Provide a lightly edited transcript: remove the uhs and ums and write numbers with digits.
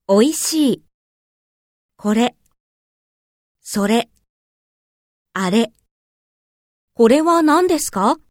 おいしい。これ、それ、あれ。これは何ですか？